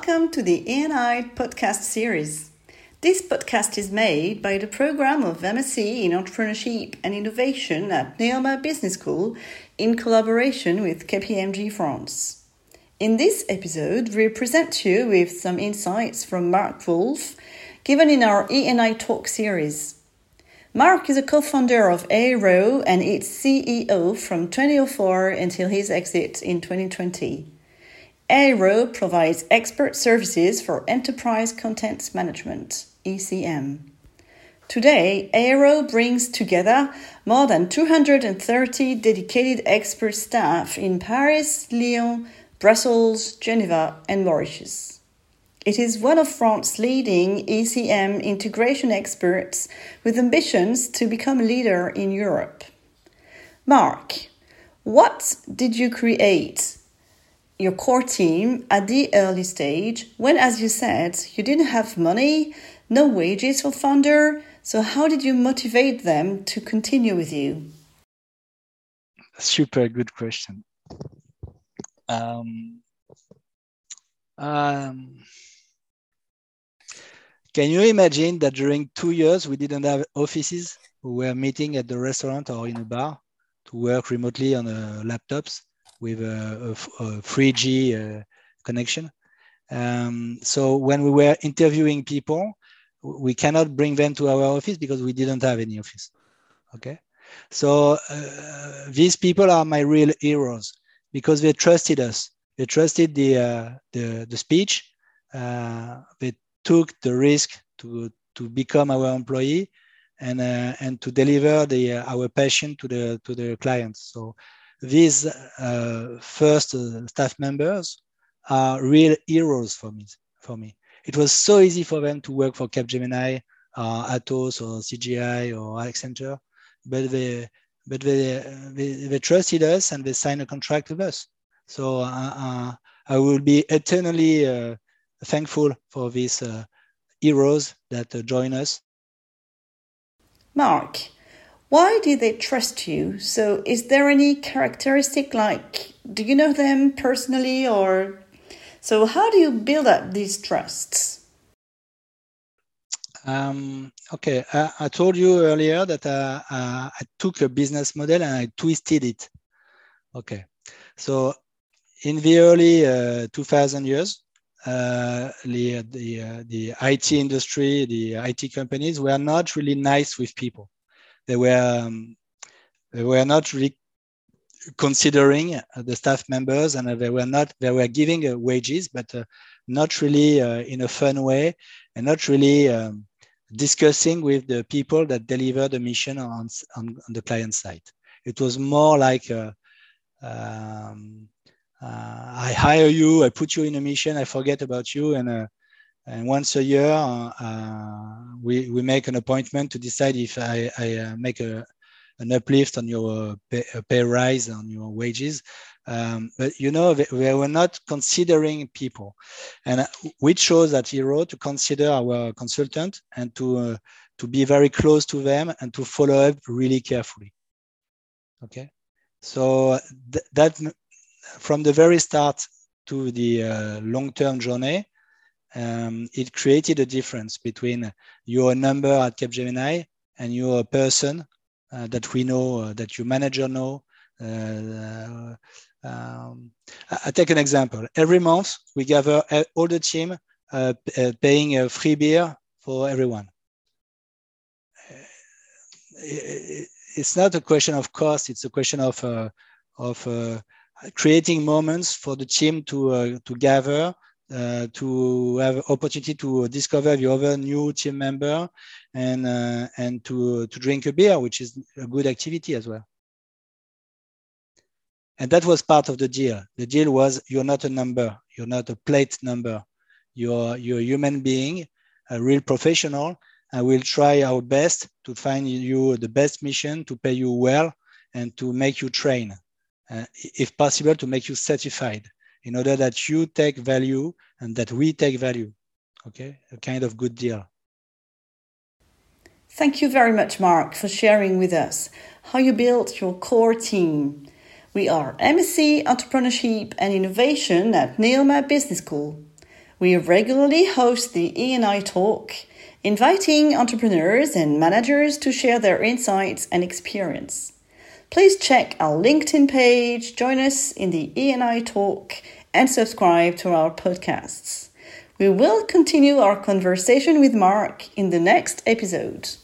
welcome to the ENI podcast series. This podcast is made by the program of MSc in Entrepreneurship and Innovation at Neoma Business School in collaboration with KPMG France. In this episode, we present you with some insights from Mark Wolf, given in our ENI Talk series. Mark is a co-founder of Aero and its CEO from 2004 until his exit in 2020. Aero provides expert services for enterprise content management, ECM. Today, Aero brings together more than 230 dedicated expert staff in Paris, Lyon, Brussels, Geneva, and Mauritius. It is one of France's leading ECM integration experts with ambitions to become a leader in Europe. Mark, what did you create your core team at the early stage when, as you said, you didn't have money, no wages for founder, so how did you motivate them to continue with you? Super good question. Can you imagine that during 2 years we didn't have offices? We were meeting at the restaurant or in a bar to work remotely on laptops with a 3G connection. So when we were interviewing people, we cannot bring them to our office because we didn't have any office. Okay, so these people are my real heroes because they trusted us. They trusted the speech. They took the risk to become our employee and to deliver our passion to the clients. So these first staff members are real heroes for me. It was so easy for them to work for Capgemini, Atos, or CGI, or Accenture, but they trusted us and they signed a contract with us. So I will be eternally thankful for these heroes that join us. Mark, why did they trust you? So is there any characteristic, like, do you know them personally, or so how do you build up these trusts? Okay, I told you earlier that I took a business model and I twisted it. Okay, so in the early 2000 years, the IT industry, the IT companies were not really nice with people. They were not really considering the staff members, and they were giving wages, but not really in a fun way, and not really discussing with the people that deliver the mission on the client side. It was more like I hire you, I put you in a mission, I forget about you, and once a year we make an appointment to decide if I make an uplift on your pay rise on your wages. But you know, they were not considering people, and we chose at Hero to consider our consultant and to be very close to them and to follow up really carefully. Okay, so that from the very start to the long-term journey, it created a difference between your number at Capgemini and you're a person that we know, that your manager know. I take an example. Every month we gather all the team paying a free beer for everyone. It's not a question of cost. It's a question of creating moments for the team to gather, to have opportunity to discover the other new team member, and to drink a beer, which is a good activity as well. And that was part of the deal. The deal was, you're not a number, you're not a plate number, you're a human being, a real professional, and we'll try our best to find you the best mission, to pay you well, and to make you train, if possible, to make you certified, in order that you take value and that we take value. Okay, a kind of good deal. Thank you very much, Mark, for sharing with us how you built your core team. We are MSc Entrepreneurship and Innovation at Neoma Business School. We regularly host the E&I Talk, inviting entrepreneurs and managers to share their insights and experience. Please check our LinkedIn page, join us in the E&I Talk, and subscribe to our podcasts. We will continue our conversation with Mark in the next episode.